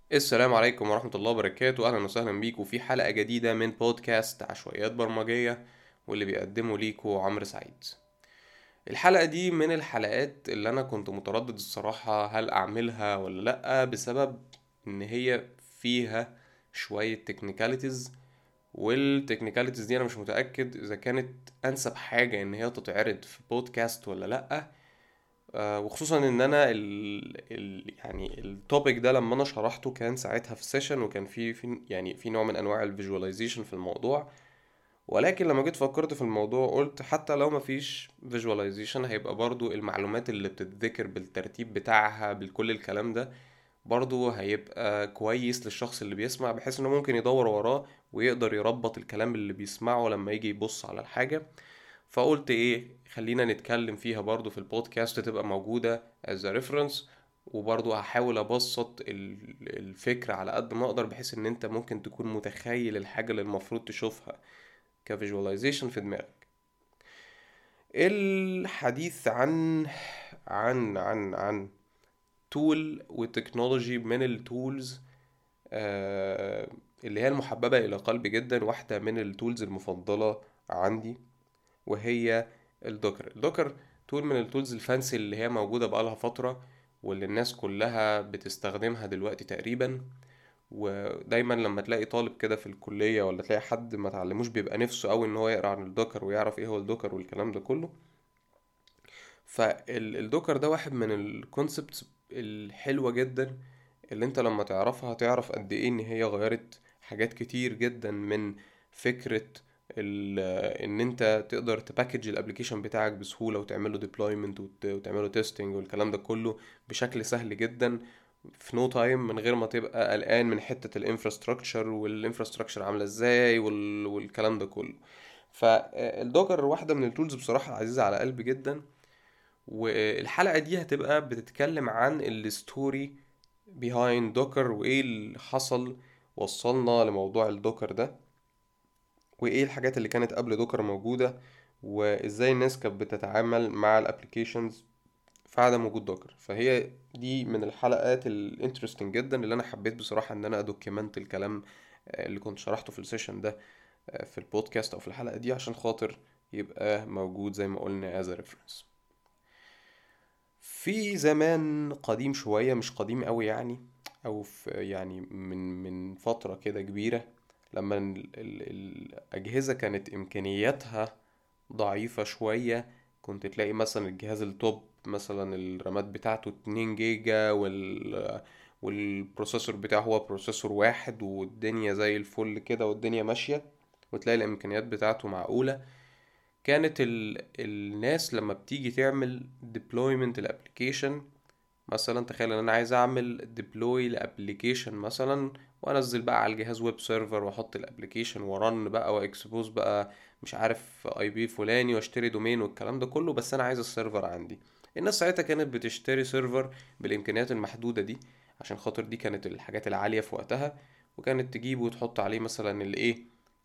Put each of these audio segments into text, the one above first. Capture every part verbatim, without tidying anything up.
السلام عليكم ورحمة الله وبركاته، أهلا وسهلا بيكم في حلقة جديدة من بودكاست عشوائيات برمجية، واللي بيقدمه ليكو عمرو سعيد. الحلقة دي من الحلقات اللي أنا كنت متردد الصراحة هل أعملها ولا لأ، بسبب إن هي فيها شوية تكنيكاليتيز، والتكنيكاليتيز دي أنا مش متأكد إذا كانت أنسب حاجة إن هي تتعرض في بودكاست ولا لأ. آه، وخصوصا ان انا ال ال يعني التوبيك ده لما انا شرحته كان ساعتها في سيشن، وكان في في يعني في نوع من انواع الفيجواليزيشن في الموضوع. ولكن لما جيت فكرت في الموضوع قلت حتى لو مفيش فيجواليزيشن هيبقى برضو المعلومات اللي بتتذكر بالترتيب بتاعها بكل الكلام ده برضو هيبقى كويس للشخص اللي بيسمع، بحيث انه ممكن يدور وراه ويقدر يربط الكلام اللي بيسمعه لما يجي يبص على الحاجة. فقلت ايه، خلينا نتكلم فيها برضو في البودكاست تبقى موجودة as a reference. وبرضو هحاول ابسط ال- الفكرة على قد ما اقدر، بحيث ان انت ممكن تكون متخيل الحاجة اللي المفروض تشوفها كفيجواليزيشن في دماغك. الحديث عن عن عن عن تول وتكنولوجي من التولز، آه اللي هي المحببة إلى قلبي جدا، واحدة من التولز المفضلة عندي، وهي الدوكر. الدوكر تول من التولز الفانسي اللي هي موجودة بقالها فترة، واللي الناس كلها بتستخدمها دلوقتي تقريبا. ودايما لما تلاقي طالب كده في الكلية، ولا تلاقي حد ما تعلموش، بيبقى نفسه قوي ان هو يقرأ عن الدوكر ويعرف ايه هو الدوكر والكلام ده كله. فالدوكر ده واحد من الكونسبتس الحلوة جدا، اللي انت لما تعرفها هتعرف قد ايه ان هي غيرت حاجات كتير جدا من فكرة ال- ان انت تقدر تباكج الابليكيشن بتاعك بسهولة، وتعمله ديبلويمنت وتعمله تيستنج والكلام ده كله بشكل سهل جدا في نو تايم، من غير ما تبقى قلقان من حتة الانفراستراكشر والانفراستراكشر عاملة ازاي وال- والكلام ده كله. فالدوكر واحدة من التولز بصراحة عزيزة على قلبي جدا. والحلقة دي هتبقى بتتكلم عن الستوري behind دوكر، وايه اللي حصل وصلنا لموضوع الدوكر ده، وايه الحاجات اللي كانت قبل دوكر موجودة، وازاي الناس كانت بتتعامل مع الابليكيشنز في عدم وجود دوكر. فهي دي من الحلقات الانترستنج جدا اللي انا حبيت بصراحة ان انا ادوكيمنت الكلام آه، اللي كنت شرحته في السيشن ده آه، في البودكاست او في الحلقة دي، عشان خاطر يبقى موجود زي ما قلنا as a reference. في زمان قديم شوية، مش قديم قوي يعني، او في يعني من من فترة كده كبيرة، لما ال ال الأجهزة كانت إمكانياتها ضعيفة شوية. كنت تلاقي مثلا الجهاز التوب مثلا الرامات بتاعته اتنين جيجا، وال والبروسيسور بتاعه هو بروسيسور واحد، والدنيا زي الفل كده والدنيا ماشية، وتلاقي الإمكانيات بتاعته معقولة. كانت ال... الناس لما بتيجي تعمل deployment الابليكيشن، مثلا تخيل ان انا عايز اعمل deploy لابليكيشن مثلا، وانزل بقى على الجهاز ويب سيرفر، واحط الابليكيشن ورن بقى واكسبوز بقى مش عارف اي بي فلاني، واشتري دومين والكلام ده كله، بس انا عايز السيرفر عندي. الناس ساعتها كانت بتشتري سيرفر بالامكانيات المحدودة دي، عشان خاطر دي كانت الحاجات العالية في وقتها. وكانت تجيب وتحط عليه مثلا الايه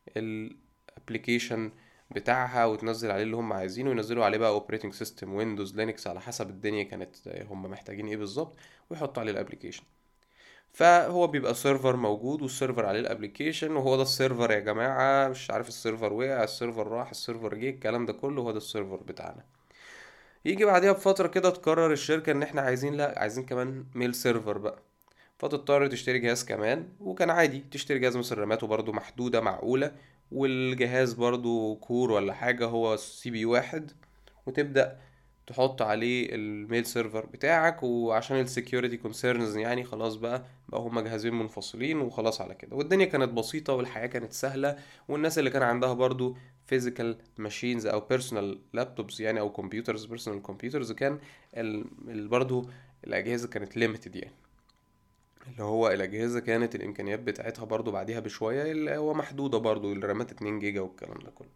الابليكيشن بتاعها، وتنزل عليه اللي هم عايزينه، وينزلوا عليه بقى اوبريتنج سيستم ويندوز لينكس على حسب الدنيا كانت هم محتاجين ايه بالظبط، ويحطوا عليه الابليكيشن. فهو بيبقى سيرفر موجود، والسيرفر عليه الابليكيشن، وهو ده السيرفر يا جماعة. مش عارف السيرفر وقع، السيرفر راح، السيرفر جه، الكلام ده كله هو ده السيرفر بتاعنا. يجي بعديها بفترة كده تقرر الشركة ان احنا عايزين، لا عايزين كمان ميل سيرفر بقى، فتضطر تشتري جهاز كمان. وكان عادي تشتري جهاز مثلا راماته برضو محدودة معقولة، والجهاز برضو كور ولا حاجة هو سي بي واحد، وتبدأ تحط عليه الميل سيرفر بتاعك. وعشان السكيورتي كونسيرنز يعني خلاص بقى بقى هما جهازين منفصلين وخلاص على كده، والدنيا كانت بسيطة والحياة كانت سهلة. والناس اللي كان عندها برضو physical machines او personal laptops يعني، او computers personal computers، كان ال... ال... برضو الأجهزة كانت limited يعني، اللي هو الأجهزة كانت الإمكانيات بتاعتها برضو بعديها بشوية اللي هو محدودة، برضو الرامات اتنين جيجا والكلام ده كله.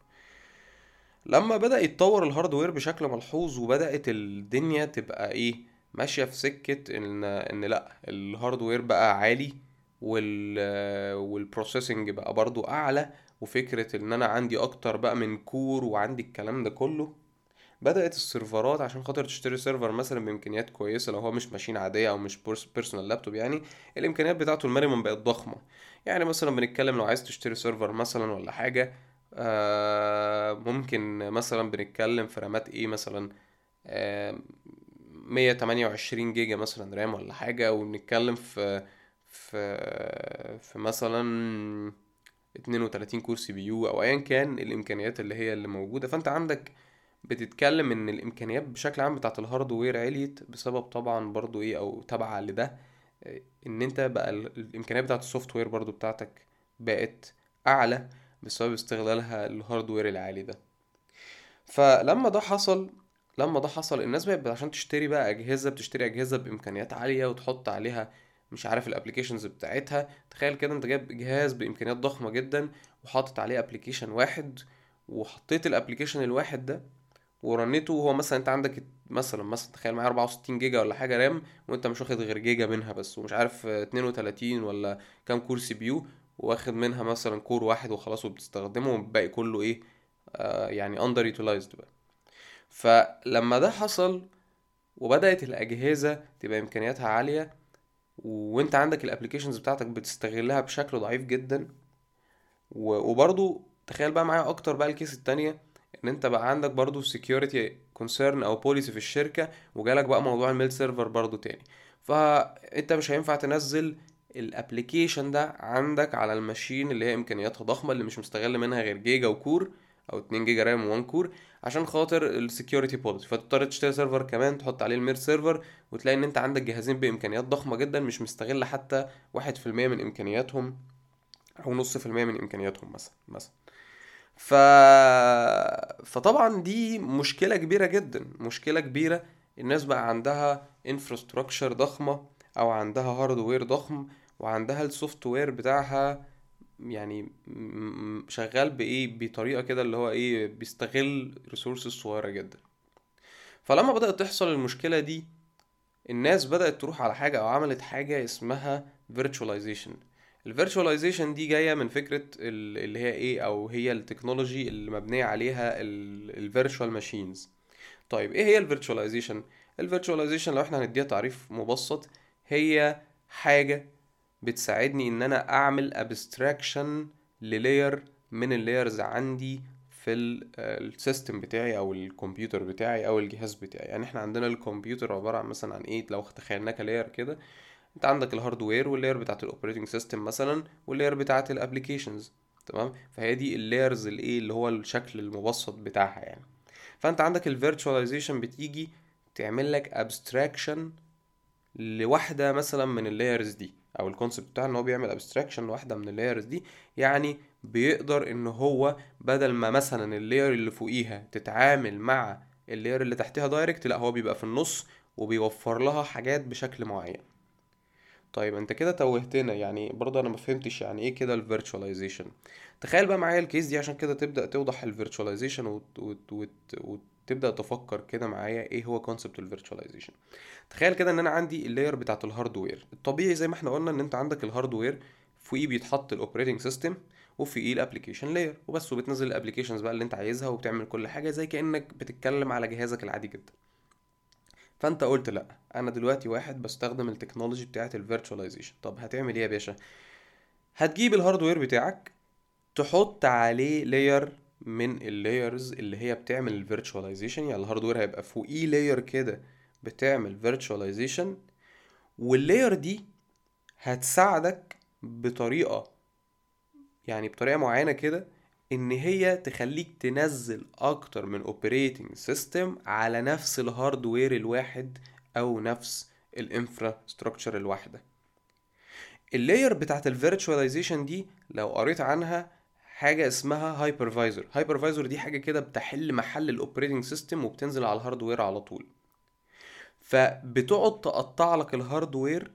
لما بدأ يتطور الهاردوير بشكل ملحوظ، وبدأت الدنيا تبقى ايه، ماشية في سكة ان ان لا الهاردوير بقى عالي، وال والبروسيسنج بقى برضو اعلى، وفكرة ان انا عندي اكتر بقى من كور وعندي الكلام ده كله، بدأت السيرفرات عشان خاطر تشتري سيرفر مثلا بإمكانيات كويسة، لو هو مش ماشين عادية أو مش بيرسونال لابتوب يعني، الإمكانيات بتاعته المينيمم بقت ضخمة. يعني مثلا بنتكلم لو عايز تشتري سيرفر مثلا ولا حاجة، آه ممكن مثلا بنتكلم في رامات ايه مثلا، آه مية تمانية وعشرين جيجا مثلا رام ولا حاجة، وبنتكلم في في في مثلا اتنين وتلاتين كور سي بي يو او ايا كان الامكانيات اللي هي اللي موجوده. فانت عندك بتتكلم ان الامكانيات بشكل عام بتاعه الهاردوير عليت بسبب طبعا برضو ايه او تبع لده، آه، ان انت بقى ال- الامكانيات بتاعه السوفت وير برضو بتاعتك بقت اعلى بسبب استغلالها للهاردوير العالي ده. فلما ده حصل لما ده حصل الناس بقت عشان تشتري بقى اجهزه، بتشتري اجهزه بامكانيات عاليه وتحط عليها مش عارف الابليكيشنز بتاعتها. تخيل كده انت جايب جهاز بامكانيات ضخمه جدا وحاطط عليه ابليكيشن واحد، وحطيت الابليكيشن الواحد ده ورنيته، وهو مثلا انت عندك مثلا مثلا تخيل معايا اربعة وستين جيجا ولا حاجه رام، وانت مش واخد غير جيجا منها بس، ومش عارف اه، اتنين وتلاتين ولا كام كور سي بي يو، واخد منها مثلا كور واحد وخلاص وبتستخدمه، والباقي كله ايه، آه يعني اندر يوتيلايزد بقى. فلما ده حصل وبدأت الأجهزة تبقى إمكانياتها عالية، وانت عندك الابليكيشنز بتاعتك بتستغلها بشكل ضعيف جدا، و- وبرضو تخيل بقى معايا اكتر بقى الكيس التانية، ان انت بقى عندك برضو security concern او policy في الشركة، وجالك بقى موضوع الميل سيرفر برضو تاني. فانت مش هينفع تنزل الابليكيشن ده عندك على الماشين اللي هي امكانياتها ضخمة، اللي مش مستغل منها غير جيجا وكور او اتنين جيجا رام و1 كور، عشان خاطر السكيورتي بوليسي. فتضطر تشتري سيرفر كمان تحط عليه المير سيرفر، وتلاقي ان انت عندك جهازين بامكانيات ضخمة جدا مش مستغل حتى واحد في المية من امكانياتهم، او نص في المية من امكانياتهم مثلا مثلا. ف... فطبعا دي مشكلة كبيرة جدا، مشكلة كبيرة. الناس بقى عندها انفراستراكشر ضخمة او عندها هاردوير ضخم، وعندها السوفت وير بتاعها يعني م- م- شغال بايه بطريقة كده اللي هو ايه بيستغل ريسورسز صغيرة جدا. فلما بدأت تحصل المشكلة دي، الناس بدأت تروح على حاجة أو عملت حاجة اسمها virtualization. ال virtualization دي جاية من فكرة ال- اللي هي ايه، أو هي التكنولوجي اللي مبنية عليها ال ال virtual machines. طيب ايه هي ال virtualization؟ ال virtualization لو احنا هنديها تعريف مبسط، هي حاجة بتساعدني ان انا اعمل abstraction للاير من اللايرز عندي في السيستم بتاعي او الكمبيوتر بتاعي او الجهاز بتاعي. يعني احنا عندنا الكمبيوتر عبارة عن مثلا عن ايه، لو تخيلناه كلاير كده، انت عندك الهاردوير واللاير بتاعت الاوبريتنج سيستم مثلا، واللاير بتاعت الابليكيشنز. تمام، فهي دي اللايرز الايه اللي هو الشكل المبسط بتاعها يعني. فانت عندك الفيرتشواليزيشن بتيجي تعمل لك ابستراكشن لواحده مثلا من اللايرز دي، او الكونسيبت بتاع ان هو بيعمل ابستراكشن لواحده من اللايرز دي. يعني بيقدر ان هو بدل ما مثلا اللاير اللي فوقيها تتعامل مع اللاير اللي تحتها دايركت، لا هو بيبقى في النص وبيوفر لها حاجات بشكل معين. طيب انت كده توهتنا، يعني برضه انا ما فهمتش يعني ايه كده الفيرتشواليزيشن. تخيل بقى معايا الكيس دي عشان كده تبدأ توضح الفيرتشواليزيشن وت... وت... وت... وتبدأ تفكر كده معايا ايه هو كونسبت الفيرتشواليزيشن. تخيل كده ان انا عندي اللاير بتاعت الهاردوير الطبيعي زي ما احنا قلنا، ان انت عندك الهاردوير فوقيه بيتحط الاوبريتنج سيستم، وفوقيه الابلكيشن لاير وبس، وبتنزل الابلكيشنز بقى اللي انت عايزها وبتعمل كل حاجه زي كانك بتتكلم على جهازك العادي جدا. فانت قلت لا، انا دلوقتي واحد بستخدم التكنولوجي بتاعت الفيرتشواليزيشن. طب هتعمل ايه يا باشا؟ هتجيب الهاردوير بتاعك تحط عليه لاير من اللايرز اللي هي بتعمل الفيرتشواليزيشن. يعني الهاردوير هيبقى فوقيه لاير كده بتعمل فيرتشواليزيشن، واللاير دي هتساعدك بطريقة، يعني بطريقة معينة كده، ان هي تخليك تنزل اكتر من اوبريتنج سيستم على نفس الهاردوير الواحد او نفس الانفراستراكشر الواحدة. اللاير بتاعت الفيرتشواليزيشن دي لو قريت عنها حاجة اسمها هايبرفايزر. هايبرفايزر دي حاجة كده بتحل محل الاوبريتنج سيستم وبتنزل على الهاردوير على طول. فبتقعد تقطع لك الهاردوير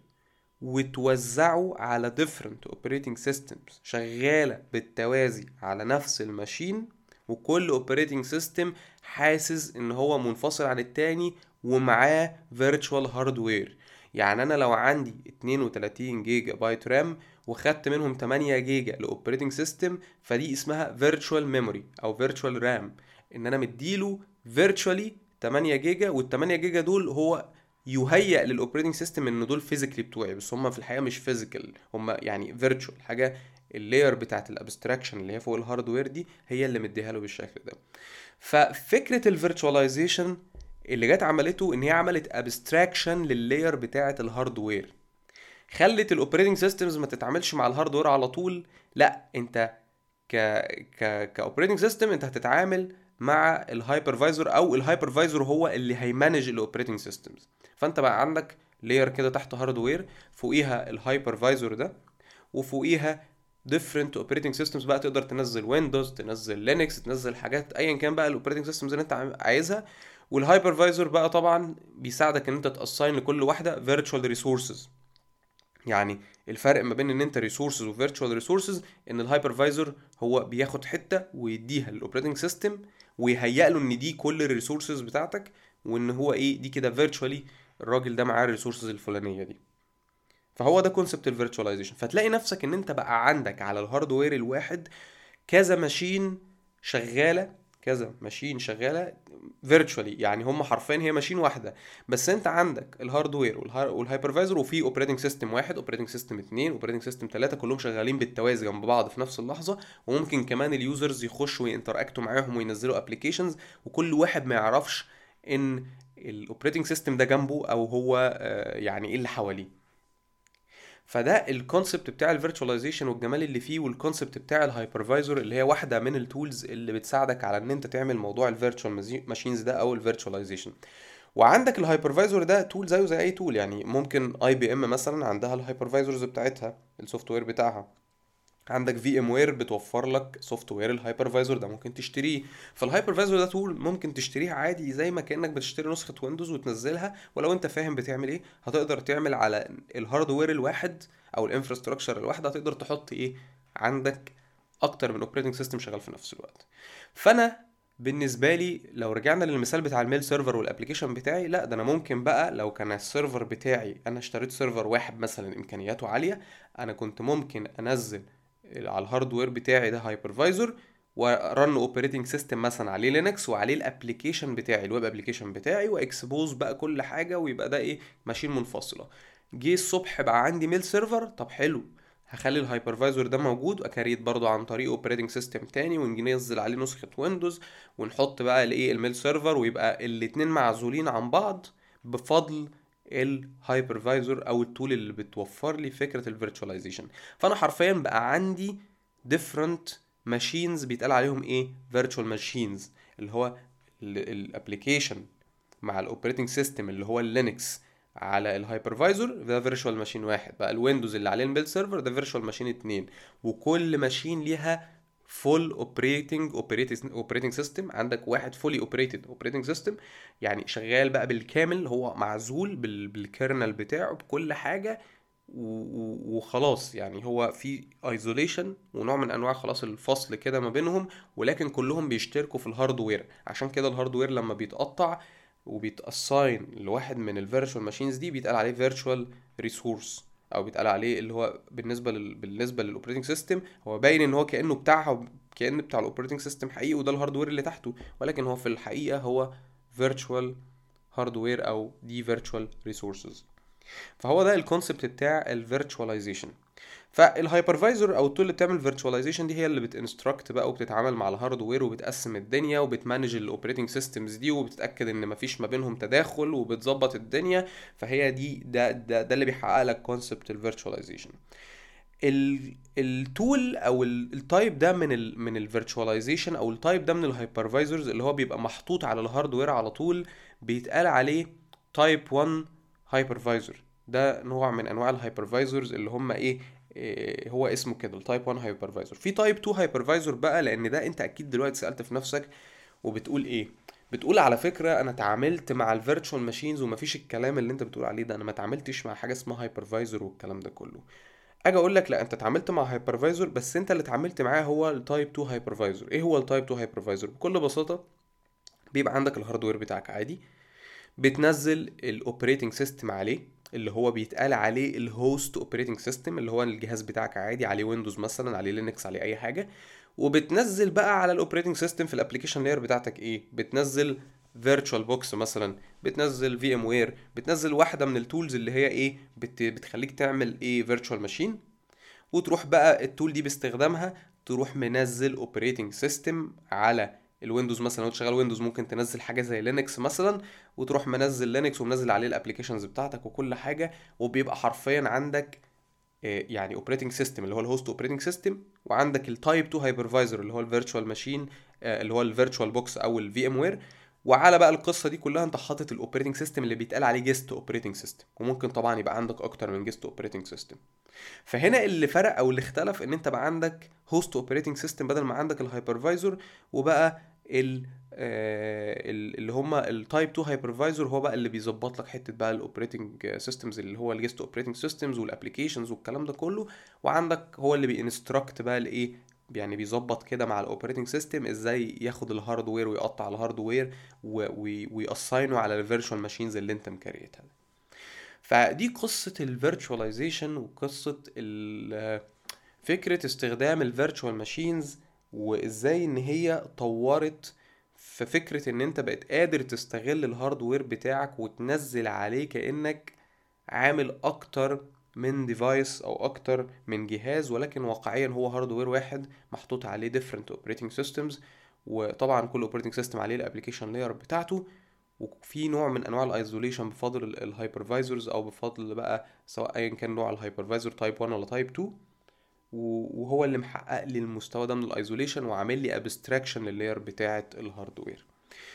وتوزعه على different operating systems شغالة بالتوازي على نفس الماشين، وكل operating system حاسس ان هو منفصل عن التاني ومعاه virtual hardware. يعني انا لو عندي اتنين وتلاتين جيجا بايت رام وخدت منهم تمانية جيجا لاوبريتنج سيستم، فدي اسمها virtual memory او virtual RAM، ان انا مديله فيرتشوالي تمانية جيجا، وال تمانية جيجا دول هو يهيئ للاوبريتنج سيستم ان دول فيزيكلي بتوعي، بس هم في الحقيقه مش فيزيكال، هم يعني فيرتشوال حاجه. اللاير بتاعت الابستراكشن اللي هي فوق الهاردوير دي هي اللي مديها له بالشكل ده. ففكره الفيرتشواليزيشن اللي جت عملته ان هي عملت ابستراكشن لللاير بتاعت الهاردوير، خلت الاوبريتنج سيستمز ما تتعاملش مع الهاردوير على طول، لا انت ك ك كاوبريتنج سيستم انت هتتعامل مع الهايبرفايزر، او الهايبرفايزر هو اللي هيمانج الاوبريتنج سيستمز. فانت بقى عندك لاير كده تحت هاردوير، فوقيها الهايبرفايزر ده، وفوقيها different operating systems بقى، تقدر تنزل ويندوز، تنزل لينكس، تنزل حاجات ايا كان بقى الاوبريتنج سيستمز اللي انت عايزها. والهايبرفايزر بقى طبعا بيساعدك ان انت تاساين لكل واحده فيرتشوال ريسورسز. يعني الفرق ما بين ان انت ريسورسز وفيرتشوال ريسورسز ان الهايبرفايزر هو بياخد حته ويديها للاوبريتنج سيستم ويهيئ له ان دي كل الريسورسز بتاعتك، وان هو ايه دي كده فيرتشوالي الراجل ده معاه الريسورسز الفلانيه دي. فهو ده كونسبت الفيرتشواليزيشن. فتلاقي نفسك ان انت بقى عندك على الهاردوير الواحد كذا ماشين شغاله، كذا ماشين شغاله فيرتشوالي، يعني هم حرفيا هي ماشين واحده، بس انت عندك الهاردوير والهايبرفايزر، وفي اوبريتنج سيستم واحد، اوبريتنج سيستم اتنين، اوبريتنج سيستم تلاته، كلهم شغالين بالتوازي جنب بعض في نفس اللحظه. وممكن كمان اليوزرز يخشوا وينتراكتوا معاهم وينزلوا ابلكيشنز، وكل واحد ما يعرفش ان الاوبريتنج سيستم ده جنبه او هو آه، يعني ايه اللي حواليه. فده الكونسبت بتاع الفيرتشواليزيشن والجمال اللي فيه، والكونسبت بتاع الهايبرفايزر اللي هي واحده من التولز اللي بتساعدك على ان انت تعمل موضوع الفيرتشوال ماشينز ده او الفيرتشواليزيشن. وعندك الهايبرفايزر ده تول زيه زي اي تول، يعني ممكن اي بي ام مثلا عندها الهايبرفايزرز بتاعتها، السوفت وير بتاعها. عندك في ام وير بتوفر لك سوفت وير الهايبرفايزر ده ممكن تشتريه. فالهايبرفايزر ده تول ممكن تشتريه عادي زي ما كانك بتشتري نسخه ويندوز وتنزلها، ولو انت فاهم بتعمل ايه هتقدر تعمل على الهاردوير الواحد او الانفراستراكشر الواحد، هتقدر تحط ايه عندك اكتر من اوبريتنج سيستم شغال في نفس الوقت. فانا بالنسبه لي لو رجعنا للمثال بتاع الميل سيرفر والابلكيشن بتاعي، لا ده انا ممكن بقى لو كان السيرفر بتاعي انا اشتريت سيرفر واحد مثلا امكانياته عاليه، انا كنت ممكن انزل على الهاردوير بتاعي ده هايبرفايزر، ورن اوبريتنج سيستم مثلا عليه لينكس وعليه الابلكيشن بتاعي الويب ابلكيشن بتاعي، واكسبوز بقى كل حاجه، ويبقى ده ايه ماشين منفصله. جه الصبح بقى عندي ميل سيرفر، طب حلو، هخلي الهايبرفايزر ده موجود واكريت برضو عن طريق اوبريتنج سيستم تاني، وننزل عليه نسخه ويندوز، ونحط بقى الايه الميل سيرفر، ويبقى الاتنين معزولين عن بعض بفضل الهايبرفايزر او التول اللي بتوفر لي فكره الفيرتشواليزيشن. فانا حرفيا بقى عندي different machines بيتقال عليهم ايه virtual machines، اللي هو الابلكيشن مع الاوبريتنج سيستم اللي هو اللينكس على الهايبرفايزر ده فيرتشوال ماشين واحد، بقى الويندوز اللي عليه الميل سيرفر ده فيرتشوال ماشين اتنين، وكل ماشين ليها فول اوبريتنج اوبريتنج سيستم. عندك واحد فولي اوبريتد اوبريتنج سيستم، يعني شغال بقى بالكامل، هو معزول بالكيرنل بتاعه بكل حاجه، وخلاص يعني هو في ايزوليشن ونوع من انواع خلاص الفصل كده ما بينهم، ولكن كلهم بيشتركوا في الهاردوير. عشان كده الهاردوير لما بيتقطع وبيتاساين لواحد من الفيرتشوال ماشينز دي بيتقال عليه فيرتشوال ريسورس، او بيتقال عليه اللي هو بالنسبه لل بالنسبه للاوبريتنج سيستم هو باين ان هو كانه بتاعها، كأن بتاع الاوبريتنج سيستم حقيقي وده الهاردوير اللي تحته، ولكن هو في الحقيقه هو فيرتشوال هاردوير او دي فيرتشوال ريسورسز. فهو ده الكونسبت بتاع الفيرتشواليزيشن. فالهايبرفايزر او التول اللي بتعمل فيرتشواليزيشن دي هي اللي بتنستراكت بقى وبتتعامل مع الهاردوير وبتقسم الدنيا وبتمانج الاوبريتنج سيستمز دي وبتتاكد ان مفيش ما بينهم تداخل وبتظبط الدنيا. فهي دي ده ده, ده اللي بيحقق لك كونسبت الفيرتشواليزيشن. التول او التايب ده من ال من الفيرتشواليزيشن او التايب ده من الهايبرفايزرز اللي هو بيبقى محطوط على الهاردوير على طول، بيتقال عليه تايب واحد هايبرفايزر. ده نوع من انواع الهايبرفايزرز اللي هم ايه, إيه هو اسمه كده التايب واحد هايبرفايزر. في تايب اتنين هايبرفايزر بقى، لان ده انت اكيد دلوقتي سألت في نفسك وبتقول ايه، بتقول على فكرة انا اتعاملت مع الفيرتشوال ماشينز ومفيش الكلام اللي انت بتقول عليه ده، انا ما اتعاملتش مع حاجة اسمها هايبرفايزر والكلام ده كله. اجي اقول لك لا، انت اتعاملت مع هايبرفايزر بس انت اللي اتعاملت معاه هو التايب اتنين هايبرفايزر. ايه هو التايب اتنين هايبرفايزر؟ بكل بساطة بيبقى عندك الهاردوير بتاعك عادي، بتنزل الاوبريتنج سيستم عليه اللي هو بيتقال عليه الهوست اوبريتنج سيستم، اللي هو الجهاز بتاعك عادي عليه ويندوز مثلا، عليه لينكس، عليه اي حاجه. وبتنزل بقى على الاوبريتنج سيستم في الابلكيشن لاير بتاعتك ايه، بتنزل فيرتشوال بوكس مثلا، بتنزل في ام وير، بتنزل واحده من التولز اللي هي ايه بت بتخليك تعمل ايه فيرتشوال ماشين. وتروح بقى التول دي باستخدامها تروح منزل اوبريتنج سيستم على الويندوز مثلا. لو انت شغال ويندوز ممكن تنزل حاجه زي لينكس مثلا، وتروح منزل لينكس ومنزل عليه الابلكيشنز بتاعتك وكل حاجه. وبيبقى حرفيا عندك آه، يعني اوبريتنج سيستم اللي هو الهوست اوبريتنج سيستم، وعندك التايب اتنين هايبرفايزر اللي هو الفيرتشوال ماشين اللي هو الفيرتشوال بوكس او الفي ام وير. وعلى بقى القصه دي كلها انت حاطط الاوبريتنج سيستم اللي بيتقال عليه جيست اوبريتنج سيستم، وممكن طبعا يبقى عندك اكتر من جيست اوبريتنج سيستم. فهنا اللي فرق او اللي اختلف ان انت بقى عندك هوست اوبريتنج سيستم بدل ما عندك الهايبرفايزر، وبقى ال آه، ال- اللي هم التايب اتنين هايبرفايزر هو بقى اللي بيظبط لك حته بقى الاوبريتنج سيستمز اللي هو الجيست اوبريتنج سيستمز والابلكيشنز والكلام ده كله. وعندك هو اللي بينستراكت بقى الايه، يعني بيظبط كده مع الاوبريتنج سيستم ازاي ياخد الهاردوير ويقطع الهاردوير ويأساينه على الفيرتشوال ماشينز اللي انت مكريتها. فدي قصة الفيرتشواليزيشن وقصة ال- فكرة استخدام الفيرتشوال ماشينز، وازاي ان هي طورت في فكرة ان انت بقيت قادر تستغل الهاردوير بتاعك وتنزل عليه كأنك عامل اكتر من ديفايس او اكتر من جهاز، ولكن واقعيا هو هاردوير واحد محطوط عليه different operating systems. وطبعا كل operating system عليه الابليكيشن لاير بتاعته، وفي نوع من انواع الايزوليشن بفضل الهايبرفايزرز او بفضل بقى سواء ايا كان نوع الهايبرفايزر تايب واحد ولا تايب اتنين. و- وهو اللي محقق لي المستوى ده من الايزوليشن وعامل لي ابستراكشن لللاير بتاعه الهاردوير.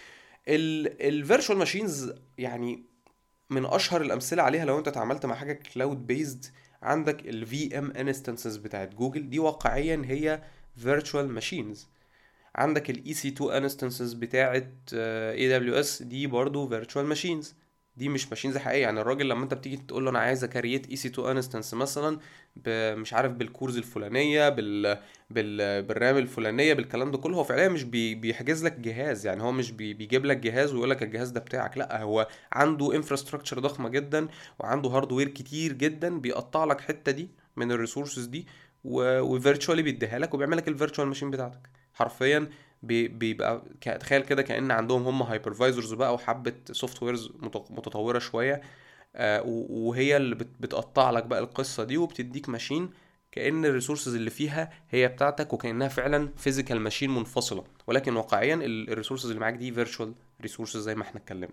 الفيرتشوال ماشينز يعني من اشهر الامثله عليها لو انت اتعاملت مع حاجه كلاود بيزد، عندك الفي ام انستنسز بتاعت جوجل، دي واقعيا هي فيرتشوال ماشينز. عندك ال إي سي تو instances بتاعت آه، إيه دبليو إس، دي برضو virtual machines. دي مش ماشينز حقيقية. يعني الراجل لما انت بتيجي تقول له انا عايز اكريت إي سي تو instance مثلا ب- مش عارف بالكورز الفلانية بال... بال... بالرام الفلانية بالكلام ده كله، هو فعليا مش بي... بيحجز لك جهاز. يعني هو مش بي... بيجيب لك جهاز ويقول لك الجهاز ده بتاعك، لا هو عنده انفراستراكشر ضخمة جدا وعنده هاردوير كتير جدا بيقطع لك حتة دي من الريسورسز دي، و... وفيرتشوالي بيديها لك وبيعمل لك الفيرتشوال ماشين بتاعتك حرفيا. بي- بيبقى ك- تخيل كده كأن عندهم هم هايبرفايزرز بقى وحبة سوفت ويرز متطورة شوية، آه، و- وهي اللي بت- بتقطع لك بقى القصة دي وبتديك ماشين كأن الريسورسز اللي فيها هي بتاعتك، وكأنها فعلا فيزيكال ماشين منفصلة، ولكن واقعيا الريسورسز اللي معاك دي فيرتشوال ريسورسز زي ما احنا اتكلمنا.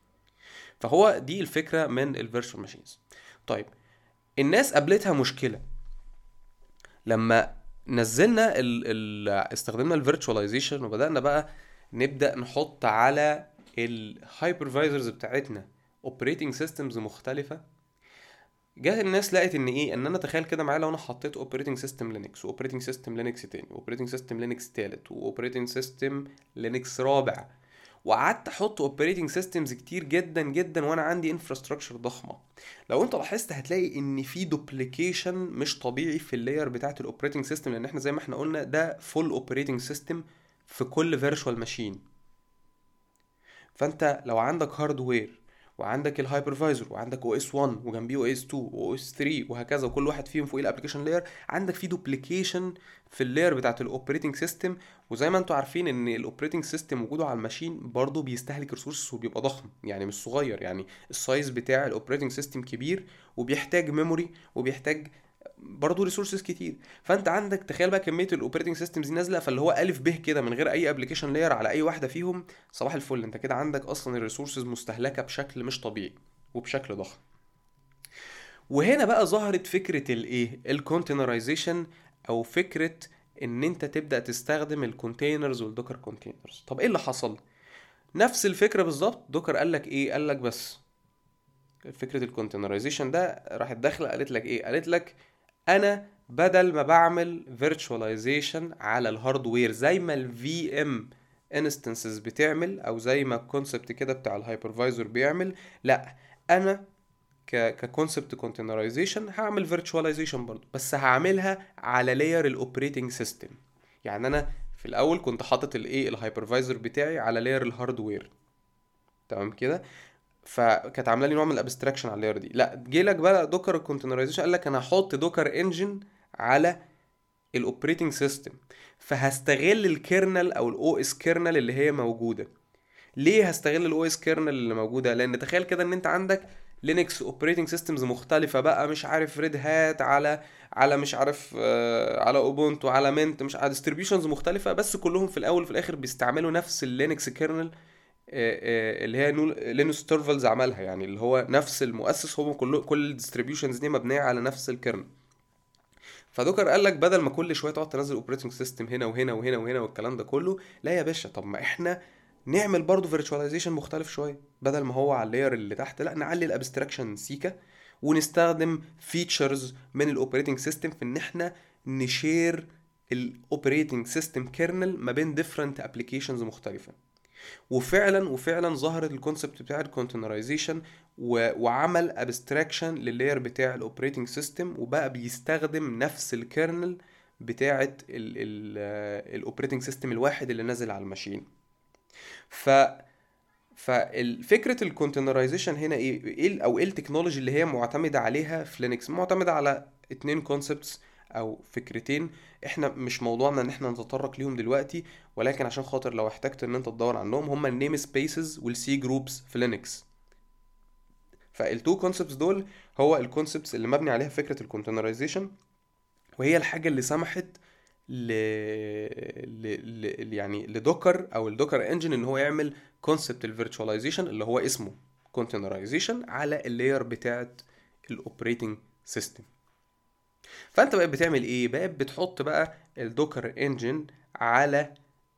فهو دي الفكرة من الفيرتشوال ماشينز. طيب، الناس قابلتها مشكلة لما نزلنا ال ال استخدمنا الفيرتشواليزيشن وبدأنا بقى نبدأ نحط على الهايبرفايزرز بتاعتنا اوبريتنج سيستمز مختلفة. جات الناس لقت ان ايه، ان انا تخيل كده معايا لو انا حطيت اوبريتنج سيستم لينكس واوبريتنج سيستم لينكس تاني واوبريتنج سيستم لينكس تالت واوبريتنج سيستم لينكس رابع، وقعدت احط اوبريتنج سيستمز كتير جدا جدا وانا عندي انفراستراكشر ضخمه. لو انت لاحظت هتلاقي ان في دوبليكيشن مش طبيعي في اللاير بتاعه الاوبريتنج سيستم، لان احنا زي ما احنا قلنا ده فول اوبريتنج سيستم في كل فيرتشوال ماشين. فانت لو عندك هاردوير وعندك الهايبرفايزر وعندك او اس واحد وجنبيه او اس اتنين واو اس تلاتة وهكذا، وكل واحد فيهم فوق الابلكيشن لاير، عندك في دوبليكيشن في اللاير بتاعه الاوبريتنج سيستم. وزي ما انتم عارفين ان الاوبريتنج سيستم وجوده على الماشين برضه بيستهلك ريسورسز وبيبقى ضخم، يعني مش صغير. يعني السايز بتاع الاوبريتنج سيستم كبير وبيحتاج ميموري وبيحتاج برضه ريسورسز كتير. فانت عندك تخيل بقى كميه الاوبريتنج سيستمز نازله، فاللي هو الف ب كده من غير اي ابلكيشن لاير على اي واحده فيهم، صباح الفل انت كده عندك اصلا الريسورسز مستهلكه بشكل مش طبيعي وبشكل ضخم. وهنا بقى ظهرت فكره الايه الكونتينرايزيشن، او فكره ان انت تبدا تستخدم الكونتينرز والدوكر كونتينرز. طب ايه اللي حصل؟ نفس الفكره بالظبط. دوكر قال لك ايه؟ قال لك بس فكره الكونتينرايزيشن ده راحت داخله قالت لك ايه؟ قالت لك انا بدل ما بعمل فيرتشواليزيشن على الهاردوير زي ما الفي ام انستنسز بتعمل، او زي ما الكونسبت كده بتاع الهايبرفايزر بيعمل، لا انا ك ككونسبت كونتينرايزيشن هعمل فيرتشواليزيشن برضو، بس هعملها على لاير الاوبريتنج سيستم. يعني انا في الاول كنت حاطط الايه الهايبرفايزر بتاعي على لاير الهاردوير، تمام كده. فكانت عامله لي نوع من الابستراكشن على اللاير دي. لا، جه لك بقى دوكر الكونتينرايزيشن قال لك انا هحط دوكر انجن على الاوبريتنج سيستم، فهستغل الكيرنل او الاو اس كيرنل اللي هي موجوده. ليه هستغل الاو اس كيرنل اللي موجوده؟ لان تخيل كده ان انت عندك لينكس اوبريتنج سيستمز مختلفه بقى، مش عارف ريد هات على على مش عارف آه على اوبونتو على منت، مش على ديستريبيوشنز مختلفه، بس كلهم في الاول وفي الاخر بيستعملوا نفس اللينكس كيرنل اللي هي لينوس تورفالدز عملها، يعني اللي هو نفس المؤسس، هو كل كل الديستريبيوشنز دي مبنيه على نفس الكيرنل. فدوكر قال لك بدل ما كل شويه تقعد تنزل اوبريتنج سيستم هنا وهنا وهنا وهنا والكلام ده كله، لا يا باشا، طب ما احنا نعمل برضو فيرتشواليزيشن مختلف شويه، بدل ما هو على اللاير اللي تحت، لا نعلي الابستراكشن سيكا ونستخدم فيتشرز من الاوبريتنج سيستم في ان احنا نشير الاوبريتنج سيستم كيرنل ما بين ديفرنت ابلكيشنز مختلفه. وفعلا وفعلا ظهرت الكونسبت بتاع الكونتينرايزيشن وعمل ابستراكشن لللاير بتاع الاوبريتنج سيستم، وبقى بيستخدم نفس الكيرنل بتاعه الاوبريتنج سيستم الواحد اللي نازل على الماشين. ف فالفكره الكونتينرايزيشن هنا ايه ايه او ايه التكنولوجي اللي هي معتمده عليها في لينكس؟ معتمده على اتنين كونسبتس او فكرتين، احنا مش موضوعنا ان احنا نتطرق ليهم دلوقتي، ولكن عشان خاطر لو احتجت ان انت تدور عنهم، هما النيم سبيسز والسي جروبس في لينكس. فالتو كونسبتس دول هو الكونسبتس اللي مبني عليها فكره الكونتينرايزيشن، وهي الحاجه اللي سمحت ل... ل... ل... يعني لدوكر او الدوكر انجن ان هو يعمل كونسبت الفيرتشواليزيشن اللي هو اسمه كونتينرايزيشن على اللاير بتاعه الاوبريتنج سيستم. فانت بقى بتعمل ايه؟ بقى بتحط بقى الدوكر انجن على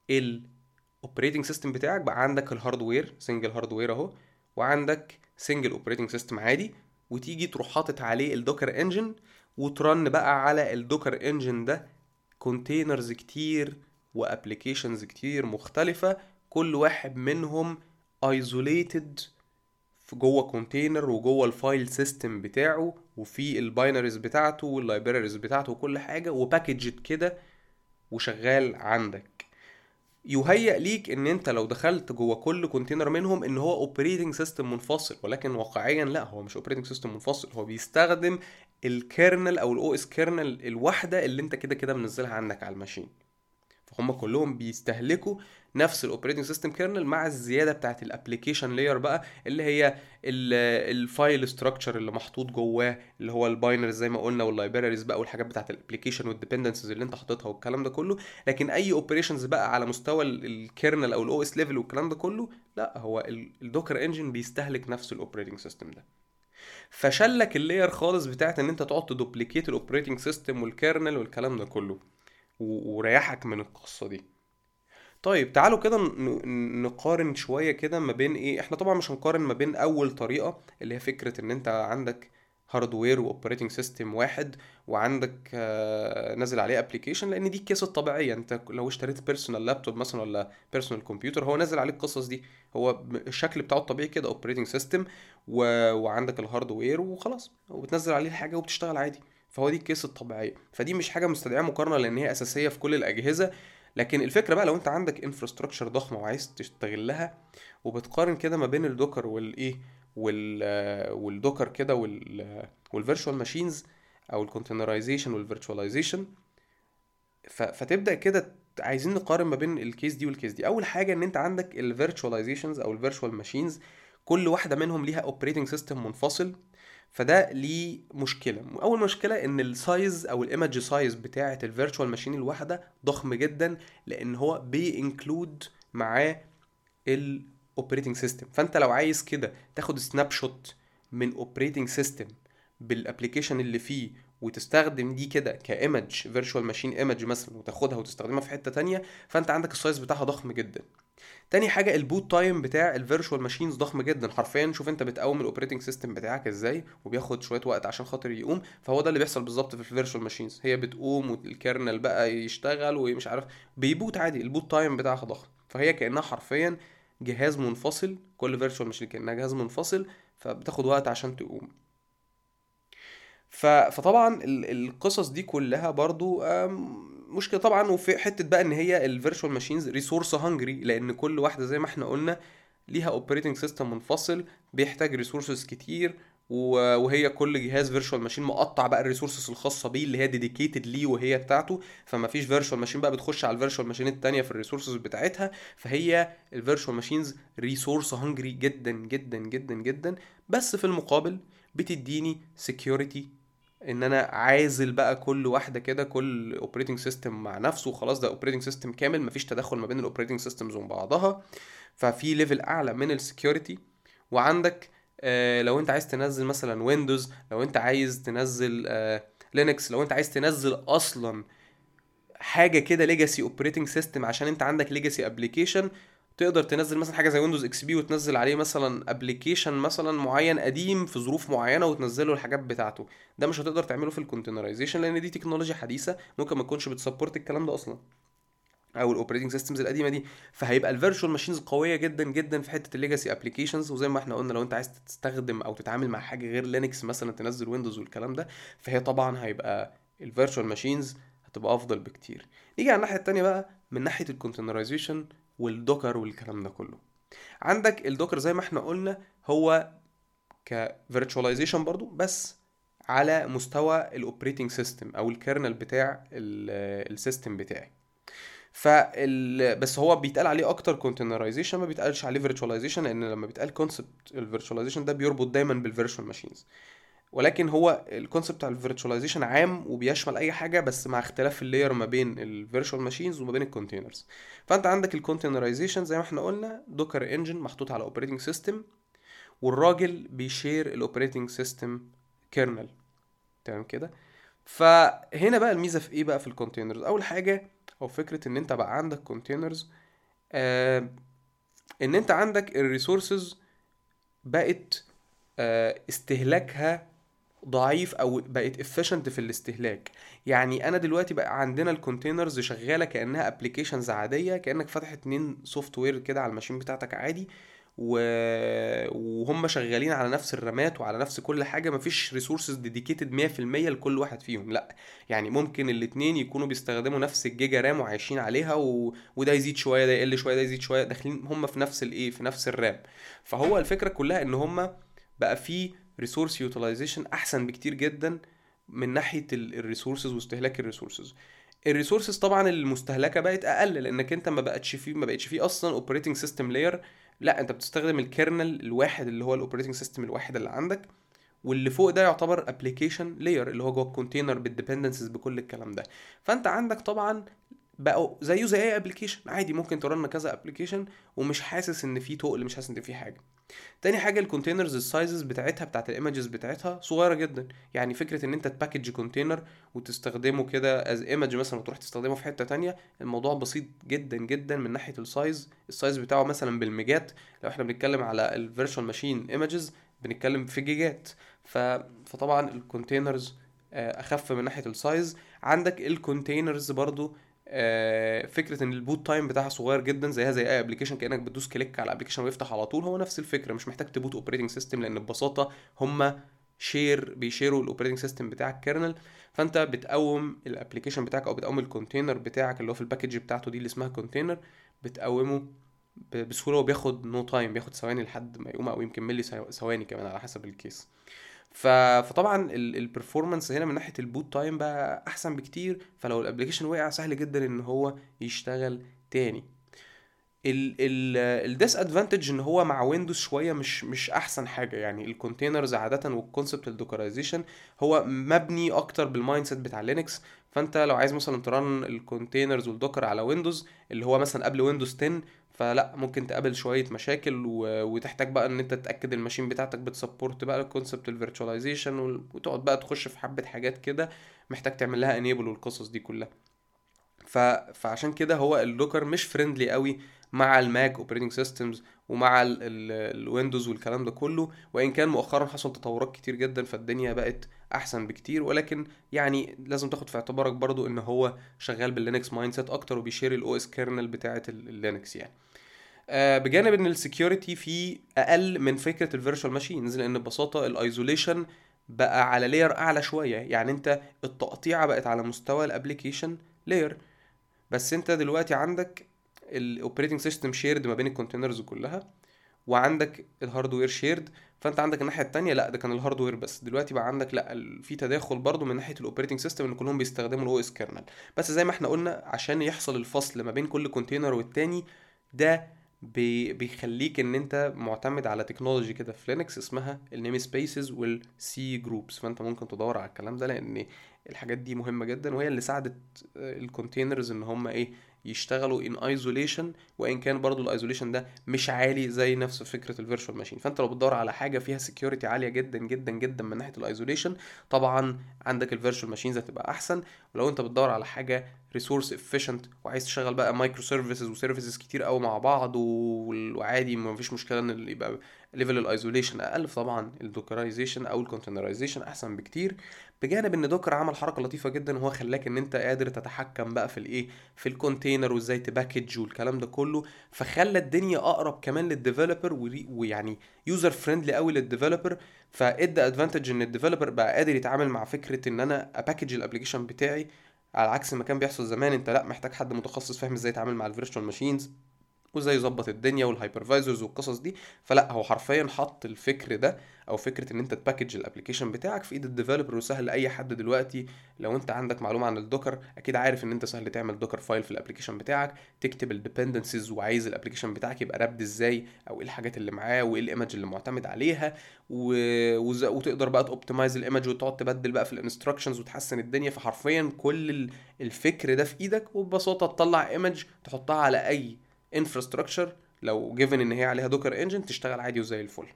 الاوبريتنج سيستم بتاعك. بقى عندك الهاردوير سنجل هاردوير اهو، وعندك سنجل اوبريتنج سيستم عادي، وتيجي تروح حاطط عليه الدوكر انجن وترن بقى على الدوكر انجن ده كونتينرز كتير وابليكيشنز كتير مختلفة، كل واحد منهم ايزوليتد في جوه كونتينر وجوه الفايل سيستم بتاعه، وفي الباينريز بتاعته واللايبراريز بتاعته وكل حاجه، وباكجد كده وشغال عندك. يهيأ ليك ان انت لو دخلت جوه كل كونتينر منهم ان هو اوبريتنج سيستم منفصل، ولكن واقعيا لا، هو مش اوبريتنج سيستم منفصل، هو بيستخدم الكيرنل او الاو اس كيرنل الواحده اللي انت كده كده منزلها عندك على الماشين. فهم كلهم بيستهلكوا نفس الاوبريتنج سيستم كيرنل مع الزياده بتاعت الابلكيشن لاير بقى، اللي هي الفايل ستراكشر اللي محطوط جواه، اللي هو الباينرز زي ما قلنا واللايبراريز بقى والحاجات بتاعت الابلكيشن والديبندنسز اللي انت حاططها والكلام ده كله. لكن اي اوبريشنز بقى على مستوى الكيرنل او الاو اس ليفل والكلام ده كله، لا، هو الدوكر انجن بيستهلك نفس الاوبريتنج سيستم ده. فشلك اللاير خالص بتاعت ان انت تقعد تدوبليكيت الاوبريتنج سيستم والكيرنل والكلام ده كله، وريحك من القصة دي. طيب تعالوا كده ن- نقارن شوية كده ما بين ايه. احنا طبعا مش هنقارن ما بين اول طريقة اللي هي فكرة ان انت عندك هاردوير واوبريتنج سيستم واحد، وعندك آه، نازل عليه ابلكيشن، لان دي الكيس الطبيعيه. انت لو اشتريت بيرسونال لابتوب مثلا ولا بيرسونال كمبيوتر، هو نازل عليه القصص دي، هو ب- الشكل بتاعه الطبيعي كده اوبريتنج سيستم و... وعندك الهاردوير وخلاص، وبتنزل عليه الحاجه وبتشتغل عادي. فهو دي الكيس الطبيعيه، فدي مش حاجه مستدعيه مقارنه لان هي اساسيه في كل الاجهزه. لكن الفكره بقى لو انت عندك انفراستراكشر ضخمه وعايز تستغلها، وبتقارن كده ما بين الدوكر والايه وال والدوكر كده وال والفيرتشوال ماشينز او الكونتينرايزيشن والفيرتشواليزيشن، فتبدا كده عايزين نقارن ما بين الكيس دي والكيس دي. اول حاجه ان انت عندك الفيرتشواليزيشنز او الفيرتشوال ماشينز، كل واحده منهم ليها اوبريتنج سيستم منفصل، فده ليه مشكله. اول مشكله ان السايز او الايمج سايز بتاعه الفيرتشوال ماشين الواحده ضخم جدا، لان هو بينكلود معاه الاوبريتنج سيستم. فانت لو عايز كده تاخد سناب شوت من اوبريتنج سيستم بالابلكيشن اللي فيه، وتستخدم دي كده كايمج فيرتشوال ماشين ايمج مثلا، وتاخدها وتستخدمها في حته تانية، فانت عندك السايز بتاعها ضخم جدا. تاني حاجه البوت تايم بتاع الفيرتشوال ماشينز ضخم جدا حرفيا. شوف انت بتقوم الاوبريتنج سيستم بتاعك ازاي، وبياخد شويه وقت عشان خاطر يقوم. فهو ده اللي بيحصل بالظبط في الفيرتشوال ماشينز، هي بتقوم والكيرنل بقى يشتغل ومش عارف، بيبوت عادي، البوت تايم بتاعها ضخم. فهي كانها حرفيا جهاز منفصل، كل فيرتشوال ماشين كانها جهاز منفصل، فبتاخد وقت عشان تقوم. ف... فطبعا ال- القصص دي كلها برضو آم، مشكله طبعا. وفي حته بقى ان هي الفيرتشوال ماشينز ريسورس هانجري، لان كل واحده زي ما احنا قلنا ليها اوبريتنج سيستم منفصل بيحتاج ريسورسز كتير، و- وهي كل جهاز فيرتشوال ماشين مقطع بقى الريسورسز الخاصه بيه اللي هي ديديكيتد ليه وهي بتاعته. فما فيش فيرتشوال ماشين بقى بتخش على الفيرتشوال ماشين التانية في الريسورسز بتاعتها. فهي الفيرتشوال ماشينز ريسورس هنجري جدا جدا جدا جدا. بس في المقابل بتديني سكيورتي، ان انا عازل بقى كل واحده كده، كل اوبريتنج سيستم مع نفسه وخلاص، ده اوبريتنج سيستم كامل مفيش تدخل ما بين الاوبريتنج سيستمز وبين بعضها. ففي ليفل اعلى من السكيورتي. وعندك آه لو انت عايز تنزل مثلا ويندوز، لو انت عايز تنزل آه لينكس، لو انت عايز تنزل اصلا حاجه كده ليجاسي اوبريتنج سيستم عشان انت عندك ليجاسي ابلكيشن، تقدر تنزل مثلا حاجه زي ويندوز اكس بي وتنزل عليه مثلا ابلكيشن مثلا معين قديم في ظروف معينه وتنزله الحاجات بتاعته. ده مش هتقدر تعمله في الكونتينرايزيشن لان دي تكنولوجيا حديثه ممكن ما تكونش بتسبورت الكلام ده اصلا، او الاوبريتنج سيستمز القديمه دي. فهيبقى الفيرتشوال ماشينز قويه جدا جدا في حته الليجاسي ابلكيشنز. وزي ما احنا قلنا لو انت عايز تستخدم او تتعامل مع حاجه غير لينكس مثلا تنزل ويندوز والكلام ده، فهي طبعا هيبقى الفيرتشوال ماشينز هتبقى افضل بكتير. نيجي على الناحيه التانيه بقى من ناحيه الكونتينرايزيشن والدوكر والكلام ده كله. عندك الدوكر زي ما احنا قلنا هو كفيرتشواليزيشن برضو، بس على مستوى الاوبريتنج سيستم او الكيرنل بتاع السيستم بتاعي. فال بس هو بيتقال عليه اكتر كونتينرايزيشن، ما بيتقالش عليه فيرتشواليزيشن، لان لما بيتقال كونسبت الفيرتشواليزيشن ده بيربط دايما بالفيرتشوال ماشينز. ولكن هو الكونسبت بتاع الفيرتشواليزيشن عام وبيشمل اي حاجه، بس مع اختلاف اللاير ما بين الفيرتشوال ماشينز وما بين الكونتينرز. فانت عندك الكونتينرايزيشن زي ما احنا قلنا دوكر انجن محطوط على اوبريتنج سيستم، والراجل بيشير الاوبريتنج سيستم كيرنل. تمام كده. فهنا بقى الميزه في ايه بقى في الكونتينرز؟ اول حاجه او فكره ان انت بقى عندك كونتينرز، آه ان انت عندك الريسورسز بقت آه استهلاكها ضعيف او بقت efficient في الاستهلاك. يعني انا دلوقتي بقى عندنا الكونتينرز شغاله كانها ابلكيشنز عاديه، كانك فاتح اتنين سوفت وير كده على الماشين بتاعتك عادي، و... وهم شغالين على نفس الرامات وعلى نفس كل حاجه، مفيش ريسورسز ديديكيتد مية في المية لكل واحد فيهم، لا. يعني ممكن الاتنين يكونوا بيستخدموا نفس الجيجا رام وعايشين عليها، و... وده يزيد شويه ده يقل شويه ده يزيد شويه، داخلين هم في نفس الايه في نفس الرام. فهو الفكره كلها ان هم بقى في ريسورس يوتيلايزيشن احسن بكتير جدا من ناحيه الريسورسز واستهلاك الريسورسز. الريسورسز طبعا المستهلكه بقت اقل لانك انت ما بقتش فيه ما بقتش فيه اصلا اوبريتنج سيستم لاير، لا انت بتستخدم الكيرنل الواحد اللي هو الاوبريتنج سيستم الواحد اللي عندك، واللي فوق ده يعتبر ابلكيشن لاير اللي هو جوه الكونتينر بالديبندنسز بكل الكلام ده. فانت عندك طبعا بقوا زيه زي اي ابلكيشن عادي ممكن ترن كذا ابلكيشن ومش حاسس ان في تقل، مش حاسس ان في حاجه. تاني حاجه الكونتينرز السايزز بتاعتها بتاعت الايمجز بتاعتها صغيره جدا. يعني فكره ان انت تباكج كونتينر وتستخدمه كده از ايمج مثلا وتروح تستخدمه في حته تانية، الموضوع بسيط جدا جدا من ناحيه السايز. السايز بتاعه مثلا بالميجات، لو احنا بنتكلم على الفيرتشوال ماشين ايمجز بنتكلم في جيجات. ف... فطبعا الكونتينرز اخف من ناحيه السايز. عندك الكونتينرز برضو آه، فكره ان البوت تايم بتاعها صغير جدا زيها زي اي ابلكيشن، كانك بتدوس كليك على الابلكيشن ويفتح على طول، هو نفس الفكره، مش محتاج تبوت اوبريتنج سيستم لان ببساطه هم شير بيشيروا الاوبريتنج سيستم بتاعك كيرنل. فانت بتقوم الابلكيشن بتاعك او بتقوم الكونتينر بتاعك اللي هو في الباكج بتاعته دي اللي اسمها كونتينر، بتقومه ب- بسهوله وبياخد نو تايم، بياخد ثواني لحد ما يقوم او يمكن ملي ثواني كمان على حسب الكيس. ف... فطبعا البرفورمانس هنا من ناحيه البوت تايم بقى احسن بكتير، فلو الابلكيشن وقع سهل جدا ان هو يشتغل تاني. ال ال الديس ادفانتج ان هو مع ويندوز شويه مش مش احسن حاجه. يعني الكونتينرز عاده والكونسبت الدوكرايزيشن هو مبني اكتر بالمايند سيت بتاع لينكس. فانت لو عايز مثلا ترن الكونتينرز والدوكر على ويندوز اللي هو مثلا قبل ويندوز عشرة، فلا ممكن تقابل شويه مشاكل و... وتحتاج بقى ان انت تتاكد الماشين بتاعتك بتسبورت بقى الكونسبت الفيرتشواليزيشن، وتقعد بقى تخش في حبه حاجات كده محتاج تعمل لها انيبل والقصص دي كلها. ف... فعشان كده هو اللوكر مش فريندلي قوي مع الماك اوبريتنج سيستمز ومع ال... ال... الويندوز والكلام ده كله. وان كان مؤخرا حصل تطورات كتير جدا فالدنيا بقت احسن بكتير، ولكن يعني لازم تاخد في اعتبارك برضو ان هو شغال باللينكس مايند سيت اكتر وبيشير الاو اس كيرنل بتاعه اللينكس يعني. آه بجانب ان السكيورتي فيه اقل من فكره الفيرتشوال ماشينز لان ببساطه الايزوليشن بقى على لاير اعلى شويه. يعني انت التقطيعه بقت على مستوى الابليكيشن لاير، بس انت دلوقتي عندك الاوبريتنج سيستم شيرد ما بين الكونتينرز كلها، وعندك الهاردوير شيرد. فانت عندك الناحيه التانية لا ده كان الهاردوير بس، دلوقتي بقى عندك لا ال- في تداخل برضو من ناحيه الاوبريتنج سيستم، ان كلهم بيستخدموا الاو اس كيرنل. بس زي ما احنا قلنا عشان يحصل الفصل ما بين كل كونتينر والتاني، ده بي بيخليك ان انت معتمد على تكنولوجي كده في لينكس اسمها النيم سبيسز والسي جروبس. فانت ممكن تدور على الكلام ده، لان الحاجات دي مهمه جدا، وهي اللي ساعدت الكونتينرز ان هم ايه يشتغلوا ان ايزوليشن، وان كان برضو الايزوليشن ده مش عالي زي نفس فكره الفيرتشوال ماشين. فانت لو بتدور على حاجه فيها سكيورتي عاليه جدا جدا جدا من ناحيه الايزوليشن، طبعا عندك الفيرتشوال ماشينز هتبقى احسن. ولو انت بتدور على حاجه ريسورس افيشنت وعايز تشغل بقى مايكرو سيرفيسز وسيرفيسز كتير قوي مع بعض و- وعادي ما فيش مشكله ان اللي يبقى ليفل الايزوليشن اقل، طبعا الدوكرايزيشن او الكونتينرايزيشن احسن بكتير. بجانب ان دوكر عمل حركه لطيفه جدا، وهو خلاك ان انت قادر تتحكم بقى في الايه في الكونتينر وازاي تباكج والكلام ده كله. فخلى الدنيا اقرب كمان للديفلوبر، ويعني يوزر فريندلي قوي للديفلوبر. فادى ادفانتج ان الديفلوبر بقى قادر يتعامل مع فكره ان انا اباكج الابلكيشن بتاعي، على عكس ما كان بيحصل زمان. انت لا محتاج حد متخصص فاهم ازاي يتعامل مع الفيرتشوال ماشينز وازاي يظبط الدنيا والهايبرفايزرز والقصص دي. فلا هو حرفيا حط الفكر ده، او فكره ان انت تباكج الابلكيشن بتاعك في ايد الديفلوبر، وسهل لاي حد دلوقتي. لو انت عندك معلومه عن الدوكر اكيد عارف ان انت سهل تعمل دوكر فايل في الابلكيشن بتاعك، تكتب الديبندنسز وعايز الابلكيشن بتاعك يبقى رابد ازاي، او ايه الحاجات اللي معاه وايه الايمج اللي معتمد عليها و... وز... وتقدر بقى توبتمايز الايمج وتقعد تبدل بقى في الانستراكشنز وتحسن الدنيا. فحرفيا كل ال- الفكر ده في ايدك، وببساطه تطلع ايمج تحطها على اي انفراستراكشر لو جيفن ان هي عليها دوكر انجن تشتغل عادي وزي الفل.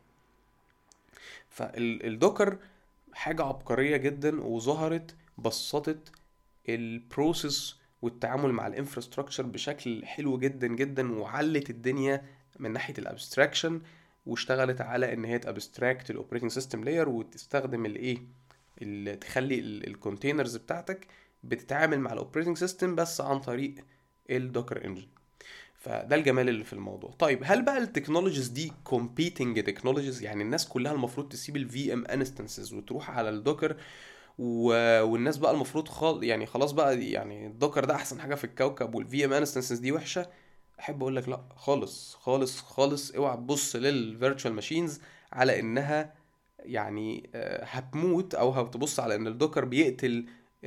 فالدوكر حاجة عبقرية جدا، وظهرت بسطت البروسيس والتعامل مع الانفراستراكشر بشكل حلو جدا جدا، وعلت الدنيا من ناحية الابستراكشن، واشتغلت على ان هي تابستراكت الاوبريتنج سيستم لاير، وتستخدم الايه اللي تخلي الكونتينرز بتاعتك بتتعامل مع الاوبريتنج سيستم بس عن طريق الدوكر انجن. فده الجمال اللي في الموضوع. طيب هل بقى التكنولوجيز دي competing تكنولوجيز؟ يعني الناس كلها المفروض تسيب الفي ام انستنسز وتروح على الدوكر و... والناس بقى المفروض خال... يعني خلاص بقى يعني الدوكر ده احسن حاجه في الكوكب والفي ام انستنسز دي وحشه؟ احب اقول لك لا خالص خالص خالص. اوعى تبص للفيرتشوال ماشينز على انها يعني آه، هتموت، او هتبص على ان الدوكر بيقتل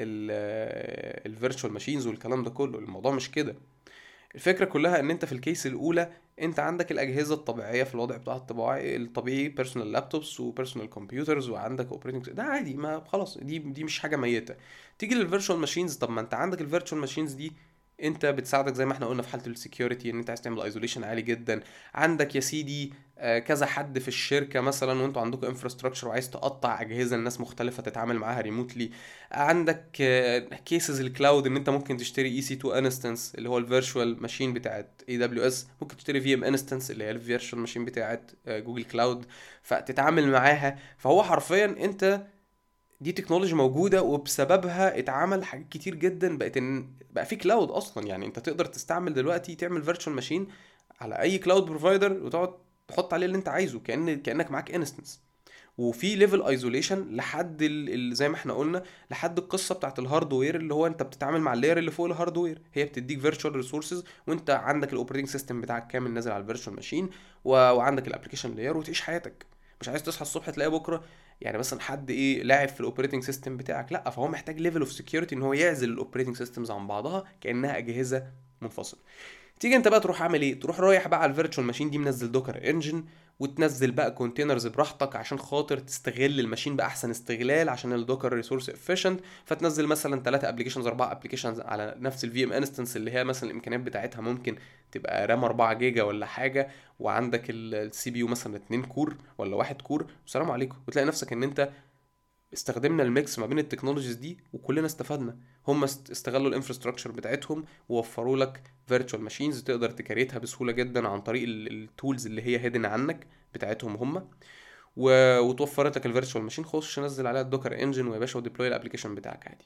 الفيرتشوال ماشينز والكلام ده كله. الموضوع مش كده. الفكرة كلها ان انت في الكيس الاولى انت عندك الاجهزة الطبيعية في الوضع بتاع الطبيعي الطبيعي بيرسونال لابتوبس وبيرسونال كمبيوترز، وعندك اوبريتنج ده عادي، ما خلاص دي دي مش حاجة ميتة. تيجي للفيرتشوال ماشينز، طب ما انت عندك الفيرتشوال ماشينز دي انت بتساعدك زي ما احنا قلنا في حالة السكيورتي، ان انت عايز تعمل ايزوليشن عالي جدا. عندك يا سيدي آه، كذا حد في الشركة مثلا، وانتوا عندكم انفراستراكشر وعايز تقطع اجهزة الناس مختلفة تتعامل معاها ريموتلي. عندك كيسز الكلاود، ان انت ممكن تشتري اي سي تو انستنس اللي هو الفيرتشوال ماشين بتاعت اي دبليو اس، ممكن تشتري في ام انستنس اللي هي الفيرتشوال ماشين بتاعت جوجل كلاود، فتتعامل معاها. فهو حرفيا انت دي تكنولوجي موجوده، وبسببها اتعمل حاجات كتير جدا، بقت ان بقى في كلاود اصلا. يعني انت تقدر تستعمل دلوقتي تعمل فيرتشوال ماشين على اي كلاود بروفايدر، وتقعد تحط عليه اللي انت عايزه كأن كأنك معاك انستنس. وفي ليفل ايزوليشن لحد ال... ال- زي ما احنا قلنا، لحد القصه بتاعت الهاردوير، اللي هو انت بتتعامل مع اللاير اللي فوق الهاردوير، هي بتديك فيرتشوال ريسورسز، وانت عندك الاوبريتنج سيستم بتاعك كامل نازل على الفيرتشوال ماشين و... وعندك الابلكيشن لاير، وتعيش حياتك. مش عايز تصحى الصبح تلاقي بكره يعني مثلا حد ايه لاعب في الاوبريتنج سيستم بتاعك، لا فهو محتاج ليفل اوف سكيورتي ان هو يعزل الاوبريتنج سيستمز عن بعضها كانها اجهزه منفصله. تيجي انت بقى تروح عامل ايه؟ تروح رايح بقى على الفيرتشوال ماشين دي منزل دوكر انجن، وتنزل بقى كونتينرز براحتك عشان خاطر تستغل الماشين باحسن استغلال، عشان الدوكر ريسورس افيشنت. فتنزل مثلا ثلاثة ابلكيشنز اربعة ابلكيشنز على نفس الفي ام انستنس، اللي هي مثلا الامكانيات بتاعتها ممكن تبقى رام اربعة جيجا ولا حاجه، وعندك السي بي يو مثلا اتنين كور ولا واحد كور، والسلام عليكم. وتلاقي نفسك ان انت استخدمنا الميكس ما بين التكنولوجيز دي وكلنا استفدنا. هم است- استغلوا الانفراستراكشر بتاعتهم ووفروا لك فيرتشوال ماشينز تقدر تكريتها بسهوله جدا عن طريق التولز اللي هي هيدن عنك بتاعتهم هم و... وتوفرت لك الفيرتشوال ماشين، خش نزل عليها الدوكر انجن ويا باشا وديبلوي الابلكيشن بتاعك عادي.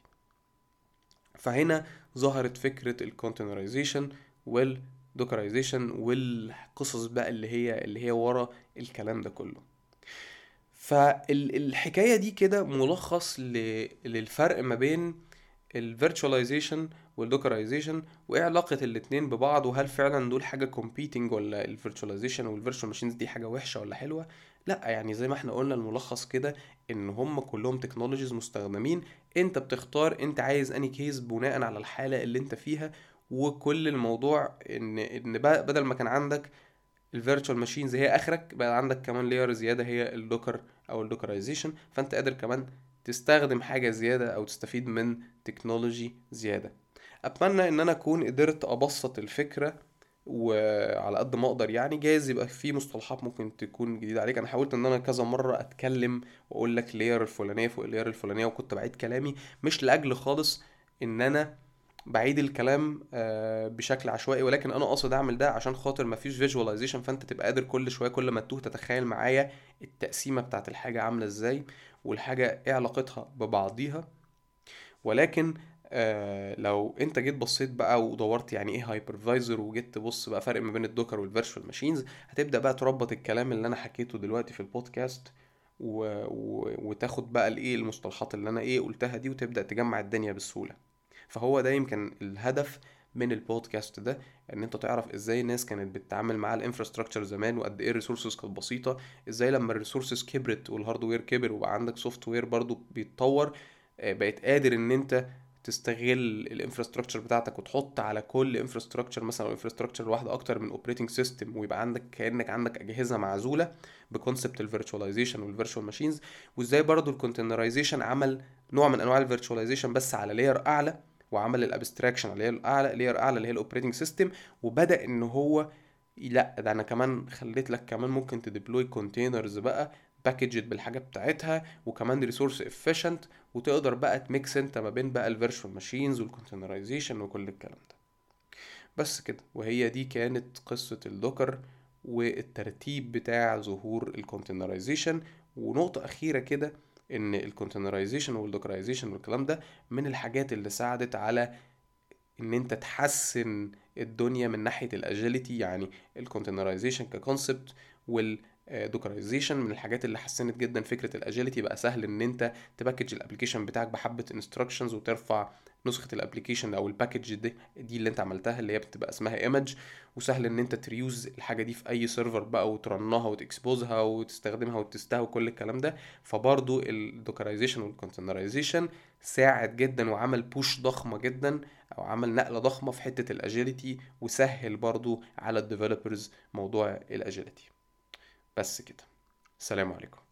فهنا ظهرت فكره الكونتينرايزيشن والدوكرايزيشن والقصص بقى اللي هي اللي هي ورا الكلام ده كله. فالحكاية دي كده ملخص ل... للفرق ما بين الفيرتشواليزيشن والدوكرايزيشن، وايه علاقة الاتنين ببعض، وهل فعلا دول حاجة competing ولا الفيرتشواليزيشن والفيرتشوال ماشينز دي حاجة وحشة ولا حلوة. لا يعني زي ما احنا قلنا الملخص كده ان هم كلهم تكنولوجيز مستخدمين، انت بتختار انت عايز اني كيس بناء على الحالة اللي انت فيها. وكل الموضوع ان ان بقى بدل ما كان عندك الفيرتشوال ماشينز هي اخرك، بقى عندك كمان لاير زياده هي اللوكر او اللوكرايزيشن، فانت قادر كمان تستخدم حاجه زياده او تستفيد من تكنولوجي زياده. اتمنى ان انا اكون قدرت ابسط الفكره وعلى قد ما اقدر، يعني جايز يبقى في مصطلحات ممكن تكون جديده عليك. انا حاولت ان انا كذا مره اتكلم واقول لك لير الفلانيه فوق اللير الفلانيه، وكنت بعيد كلامي مش لاجل خالص ان انا بعيد الكلام آه، بشكل عشوائي، ولكن انا قاصد اعمل ده عشان خاطر مفيش فيجواليزيشن، فانت تبقى قادر كل شويه كل ما تتوه تتخيل معايا التقسيمه بتاعت الحاجه عامله ازاي، والحاجه ايه علاقتها ببعضيها. ولكن آه لو انت جيت بصيت بقى ودورت يعني ايه هايبرفايزر، وجيت تبص بقى فرق ما بين الدوكر والفيرتشوال ماشينز، هتبدا بقى تربط الكلام اللي انا حكيته دلوقتي في البودكاست و... و... وتاخد بقى الايه المصطلحات اللي انا ايه قلتها دي، وتبدا تجمع الدنيا بسهوله. فهو ده يمكن الهدف من البودكاست ده، ان انت تعرف ازاي الناس كانت بتتعامل مع الانفراستراكشر زمان، وقد ايه الريسورسز كانت بسيطه، ازاي لما الريسورسز كبرت والهاردوير كبر وبقى عندك سوفت وير برضو بيتطور، آه، بقيت قادر ان انت تستغل الانفراستراكشر بتاعتك وتحط على كل انفراستراكشر مثلا او انفراستراكشر واحده اكتر من اوبريتنج سيستم، ويبقى عندك كانك عندك اجهزه معزوله بكونسبت الفيرتشواليزيشن والفيرتشوال ماشينز. وازاي برضو الكونتينرايزيشن عمل نوع من انواع الفيرتشواليزيشن بس على لاير اعلى، وعمل الابستراكشن على لاير اعلى لاير اعلى اللي هي الاوبريتنج سيستم، وبدا ان هو لا ده انا كمان خليت لك كمان ممكن تديبلوي كونتينرز بقى باكجد بالحاجه بتاعتها، وكمان ريسورس افيشنت، وتقدر بقى تميكس انت ما بين بقى الفيرتشوال ماشينز والكونتينرايزيشن وكل الكلام ده. بس كده، وهي دي كانت قصة الدوكر والترتيب بتاع ظهور الكونتينرايزيشن. ونقطة أخيرة كده، إن الكونتينرايزيشن والدوكرايزيشن والكلام ده من الحاجات اللي ساعدت على ان انت تحسن الدنيا من ناحية الاجيليتي. يعني الكونتينرايزيشن ككونسبت والدوكرايزيشن من الحاجات اللي حسنت جدا فكرة الاجيليتي. بقى سهل ان انت تباكج الابليكيشن بتاعك بحبة انستراكشنز وترفع نسخة الابليكيشن او الباكج دي دي اللي انت عملتها اللي هي بتبقى اسمها ايمج، وسهل ان انت تريوز الحاجة دي في اي سيرفر بقى وترنها وتكسبوزها وتستخدمها وتستها وكل الكلام ده. فبرضو الدوكرايزيشن والكونتينرايزيشن ساعد جدا وعمل بوش ضخمة جدا او عمل نقلة ضخمة في حتة الاجيليتي، وسهل برضو على الديفلوبرز موضوع الاجيليتي. بس كده، السلام عليكم.